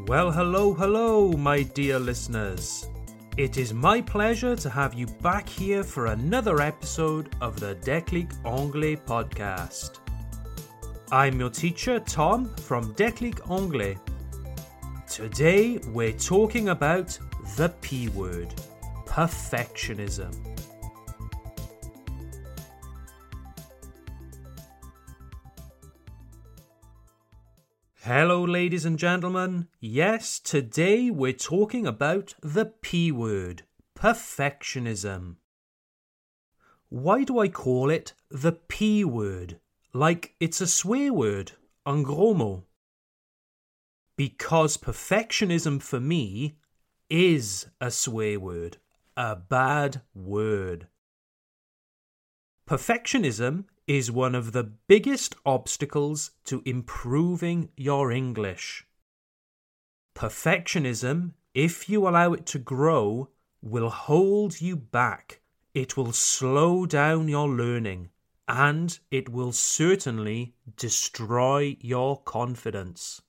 Well, hello, my dear listeners. It is my pleasure to have you back here for another episode of the Déclic Anglais podcast. I'm your teacher, Tom, from Déclic Anglais. Today, we're talking about the P word, perfectionism. Hello, ladies and gentlemen. Yes, today we're talking about the P word, perfectionism. Why do I call it the P word? Like it's a swear word, un gros mot. Because perfectionism for me is a swear word, a bad word. Perfectionism is one of the biggest obstacles to improving your English. Perfectionism, if you allow it to grow, will hold you back. It will slow down your learning, and it will certainly destroy your confidence.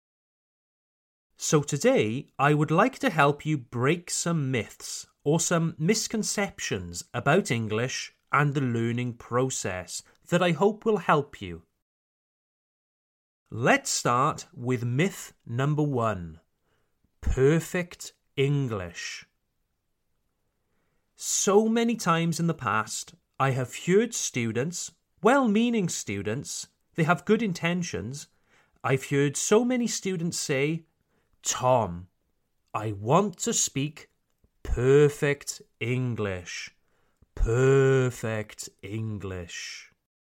So today, I would like to help you break some myths or some misconceptions about English and the learning process that I hope will help you. Let's start with myth number 1. Perfect English. So many times in the past, I have heard students, well-meaning students, they have good intentions. I've heard so many students say, Tom, I want to speak perfect English. Perfect English.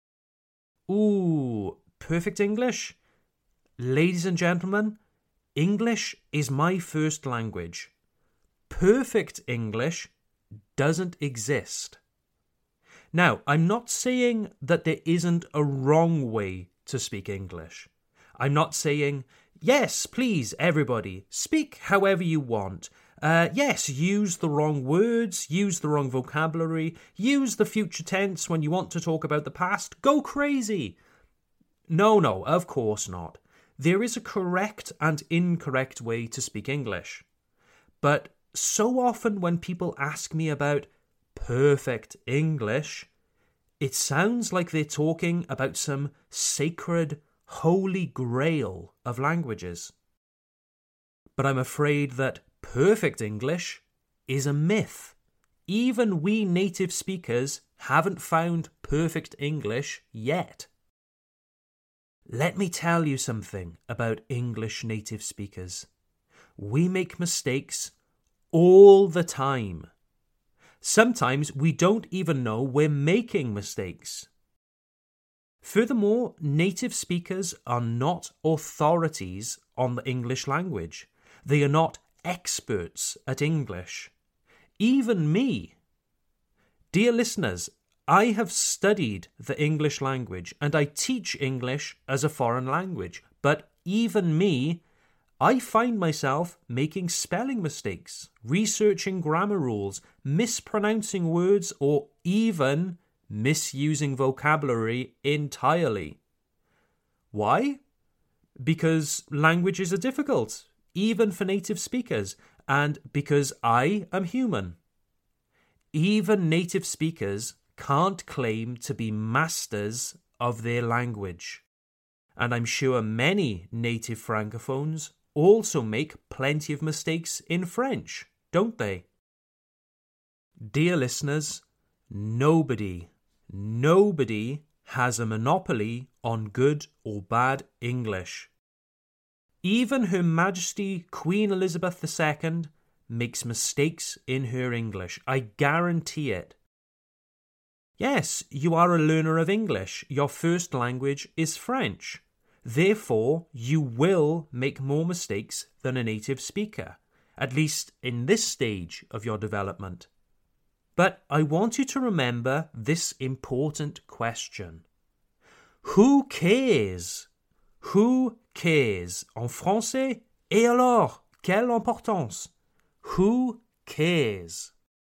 Ooh, perfect English? Ladies and gentlemen, English is my first language. Perfect English doesn't exist. Now, I'm not saying that there isn't a wrong way to speak English. I'm not saying, yes, please, everybody, speak however you want. Yes, use the wrong words, use the wrong vocabulary, use the future tense when you want to talk about the past. Go crazy! No, of course not. There is a correct and incorrect way to speak English. But so often when people ask me about perfect English, it sounds like they're talking about some sacred, holy grail of languages. But I'm afraid that perfect English is a myth. Even we native speakers haven't found perfect English yet. Let me tell you something about English native speakers. We make mistakes all the time. Sometimes we don't even know we're making mistakes. Furthermore, native speakers are not authorities on the English language. They are not experts at English. Even me. Dear listeners, I have studied the English language and I teach English as a foreign language. But even me, I find myself making spelling mistakes, researching grammar rules, mispronouncing words, or even misusing vocabulary entirely. Why? Because languages are difficult, even for native speakers, and because I am human. Even native speakers can't claim to be masters of their language. And I'm sure many native francophones also make plenty of mistakes in French, don't they? Dear listeners, nobody has a monopoly on good or bad English. Even Her Majesty Queen Elizabeth II makes mistakes in her English. I guarantee it. Yes, you are a learner of English. Your first language is French. Therefore, you will make more mistakes than a native speaker, at least in this stage of your development. But I want you to remember this important question. Who cares? Who cares? En français, et alors, quelle importance? Who cares?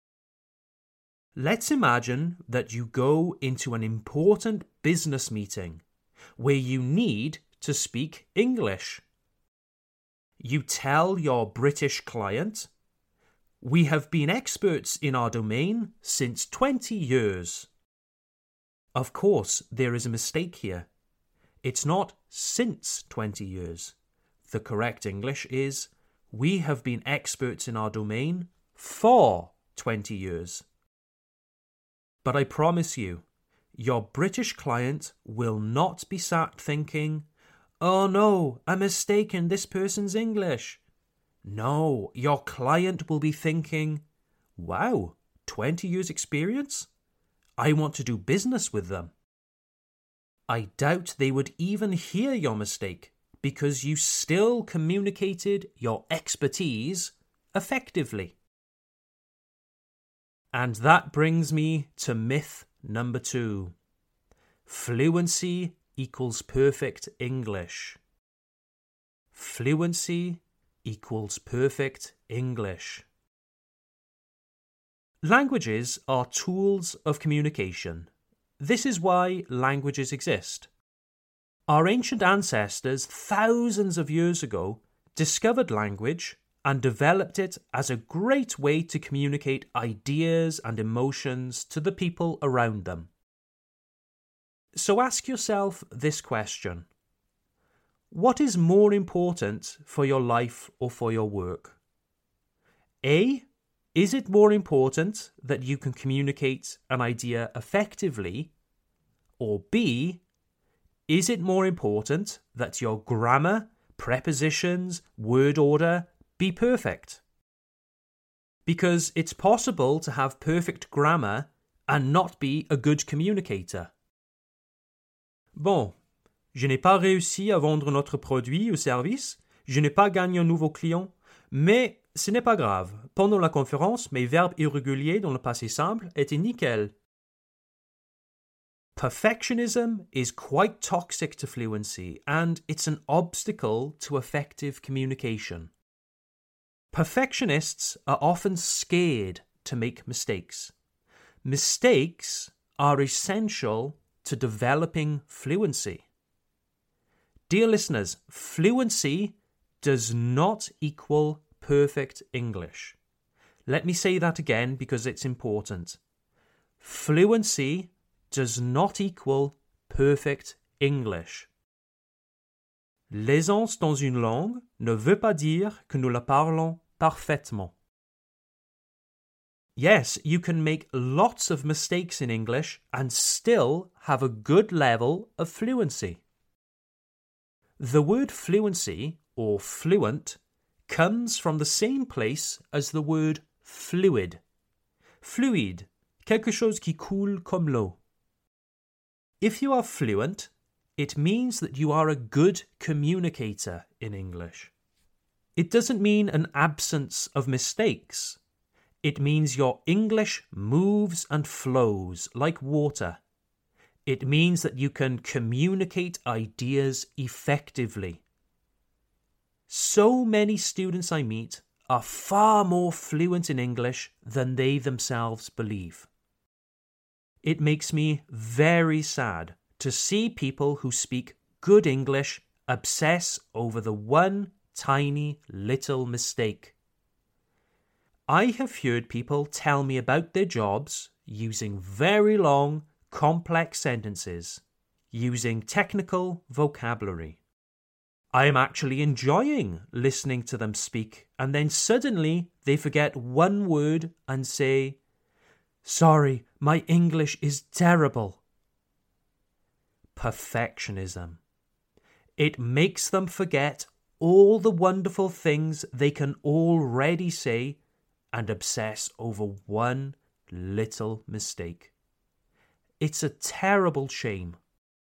Let's imagine that you go into an important business meeting where you need to speak English. you tell your British client, "We have been experts in our domain since 20 years." Of course, there is a mistake here. It's not since 20 years. The correct English is, "We have been experts in our domain for 20 years. But I promise you, your British client will not be sat thinking, "Oh no, a mistake in this person's English." No, your client will be thinking, "Wow, 20 years experience? I want to do business with them." I doubt they would even hear your mistake because you still communicated your expertise effectively. And that brings me to myth number 2. Fluency equals perfect English. Fluency equals perfect English. Languages are tools of communication. This is why languages exist. Our ancient ancestors, thousands of years ago, discovered language and developed it as a great way to communicate ideas and emotions to the people around them. So ask yourself this question. What is more important for your life or for your work? A, is it more important that you can communicate an idea effectively? Or B, is it more important that your grammar, prepositions, word order be perfect? Because it's possible to have perfect grammar and not be a good communicator. Bon, je n'ai pas réussi à vendre notre produit ou service, je n'ai pas gagné un nouveau client, mais ce n'est pas grave. Pendant la conférence, mes verbes irréguliers dans le passé simple étaient nickel. Perfectionism is quite toxic to fluency, and it's an obstacle to effective communication. Perfectionists are often scared to make mistakes. Mistakes are essential to developing fluency. Dear listeners, fluency does not equal perfect English. Let me say that again because it's important. Fluency does not equal perfect English. L'aisance dans une langue ne veut pas dire que nous la parlons parfaitement. Yes, you can make lots of mistakes in English and still have a good level of fluency. The word fluency, or fluent, comes from the same place as the word fluid. Fluide, quelque chose qui coule comme l'eau. If you are fluent, it means that you are a good communicator in English. It doesn't mean an absence of mistakes. It means your English moves and flows like water. It means that you can communicate ideas effectively. So many students I meet are far more fluent in English than they themselves believe. It makes me very sad to see people who speak good English obsess over the one tiny little mistake. I have heard people tell me about their jobs using very long, complex sentences, using technical vocabulary. I am actually enjoying listening to them speak, and then suddenly they forget one word and say, "Sorry, my English is terrible." Perfectionism. It makes them forget all the wonderful things they can already say and obsess over one little mistake. It's a terrible shame.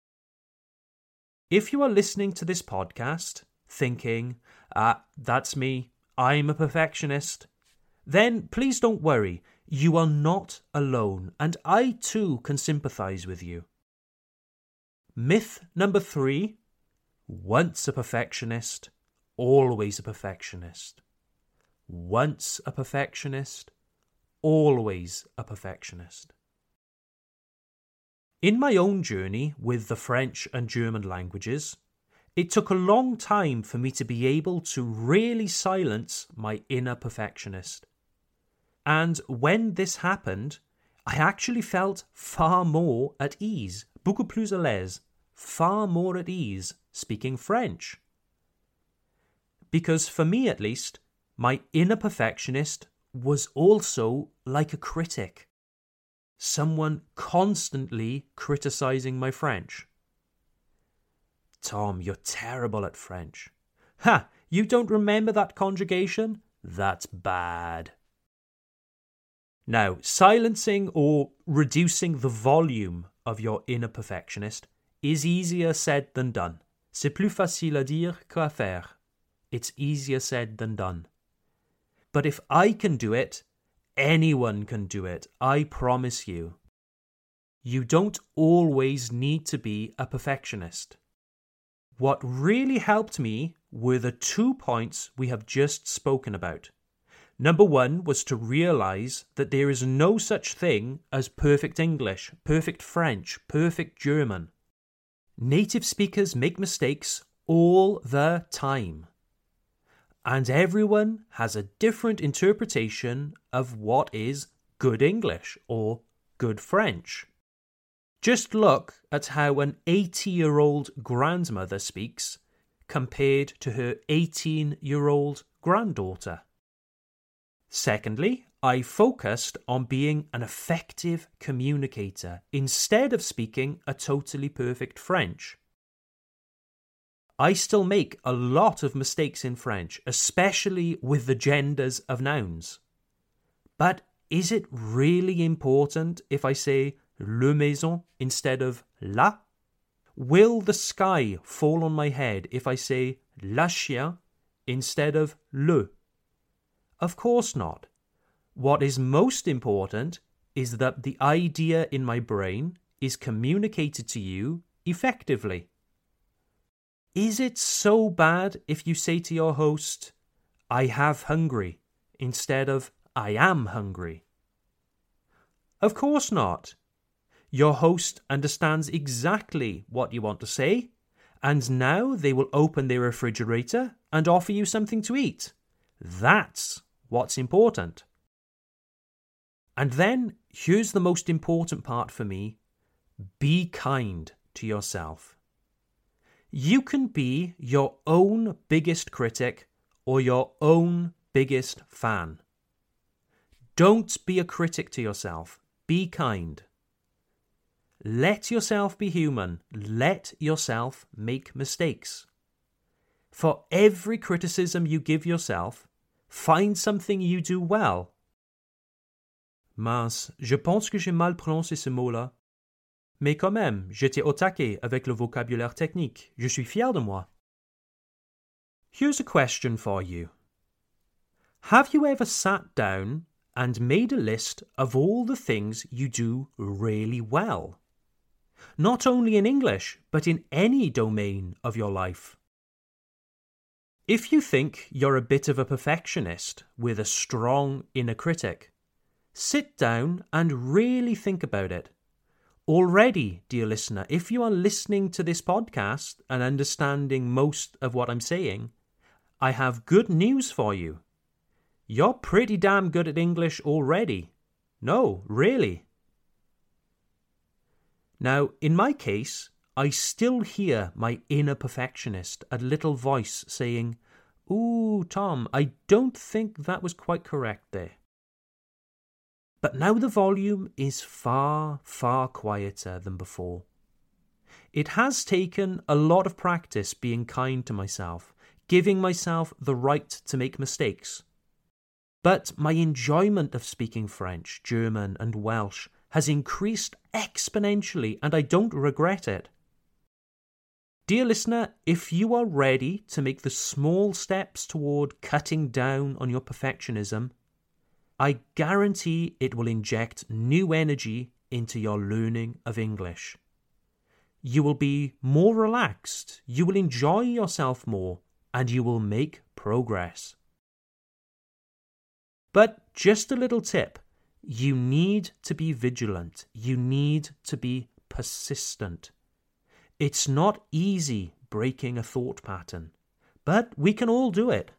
If you are listening to this podcast thinking, that's me, I'm a perfectionist, then please don't worry. You are not alone, and I too can sympathize with you. Myth number 3, once a perfectionist, always a perfectionist. Once a perfectionist, always a perfectionist. In my own journey with the French and German languages, It took a long time for me to be able to really silence my inner perfectionist. And when this happened, I actually felt far more at ease, beaucoup plus à l'aise, far more at ease speaking French. Because for me at least, my inner perfectionist was also like a critic. Someone constantly criticizing my French. Tom, you're terrible at French. Ha! You don't remember that conjugation? That's bad. Now, silencing or reducing the volume of your inner perfectionist is easier said than done. C'est plus facile à dire qu'à faire. It's easier said than done. But if I can do it, anyone can do it, I promise you. You don't always need to be a perfectionist. What really helped me were the 2 points we have just spoken about. Number 1 was to realize that there is no such thing as perfect English, perfect French, perfect German. Native speakers make mistakes all the time. And everyone has a different interpretation of what is good English or good French. Just look at how an 80-year-old grandmother speaks compared to her 18-year-old granddaughter. Secondly, I focused on being an effective communicator instead of speaking a totally perfect French. I still make a lot of mistakes in French, especially with the genders of nouns. But is it really important if I say le maison instead of la? Will the sky fall on my head if I say la chien instead of le? Of course not. What is most important is that the idea in my brain is communicated to you effectively. Is it so bad if you say to your host, I have hungry, instead of I am hungry? Of course not. Your host understands exactly what you want to say, and now they will open their refrigerator and offer you something to eat. That's what's important. And then, here's the most important part for me. Be kind to yourself. You can be your own biggest critic or your own biggest fan. Don't be a critic to yourself. Be kind. Let yourself be human. Let yourself make mistakes. For every criticism you give yourself, find something you do well. Mince, je pense que j'ai mal prononcé ce mot-là. Mais quand même, j'étais au taquet avec le vocabulaire technique. Je suis fier de moi. Here's a question for you. Have you ever sat down and made a list of all the things you do really well? Not only in English, but in any domain of your life. If you think you're a bit of a perfectionist with a strong inner critic, sit down and really think about it. Already, dear listener, if you are listening to this podcast and understanding most of what I'm saying, I have good news for you. You're pretty damn good at English already. No, really. Now, in my case, I still hear my inner perfectionist, a little voice saying, "Ooh, Tom, I don't think that was quite correct there." But now the volume is far, far quieter than before. It has taken a lot of practice being kind to myself, giving myself the right to make mistakes. But my enjoyment of speaking French, German, and Welsh has increased exponentially, and I don't regret it. Dear listener, if you are ready to make the small steps toward cutting down on your perfectionism, I guarantee it will inject new energy into your learning of English. You will be more relaxed, you will enjoy yourself more, and you will make progress. But just a little tip, you need to be vigilant, you need to be persistent. It's not easy breaking a thought pattern. But we can all do it.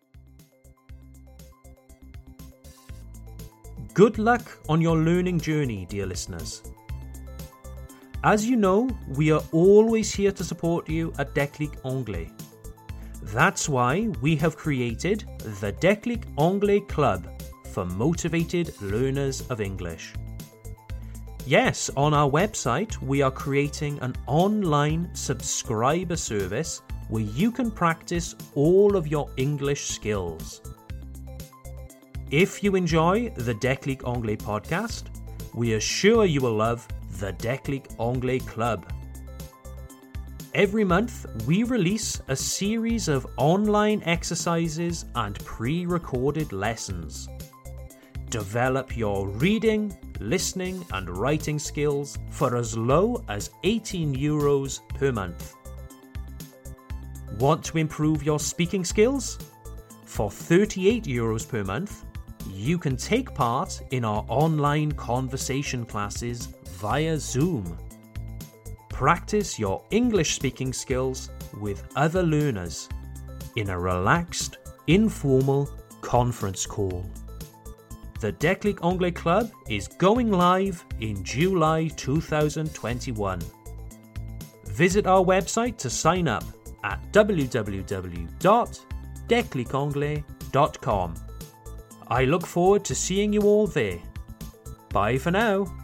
Good luck on your learning journey, dear listeners. As you know, we are always here to support you at Déclic Anglais. That's why we have created the Déclic Anglais Club for motivated learners of English. Yes, on our website, we are creating an online subscriber service where you can practice all of your English skills. If you enjoy the Déclic Anglais podcast, we are sure you will love the Déclic Anglais Club. Every month, we release a series of online exercises and pre-recorded lessons. Develop your reading, listening and writing skills for as low as €18 per month. Want to improve your speaking skills? For €38 per month, you can take part in our online conversation classes via Zoom. Practice your English speaking skills with other learners in a relaxed, informal conference call. The Déclic Anglais Club is going live in July 2021. Visit our website to sign up at www.declicanglais.com. I look forward to seeing you all there. Bye for now.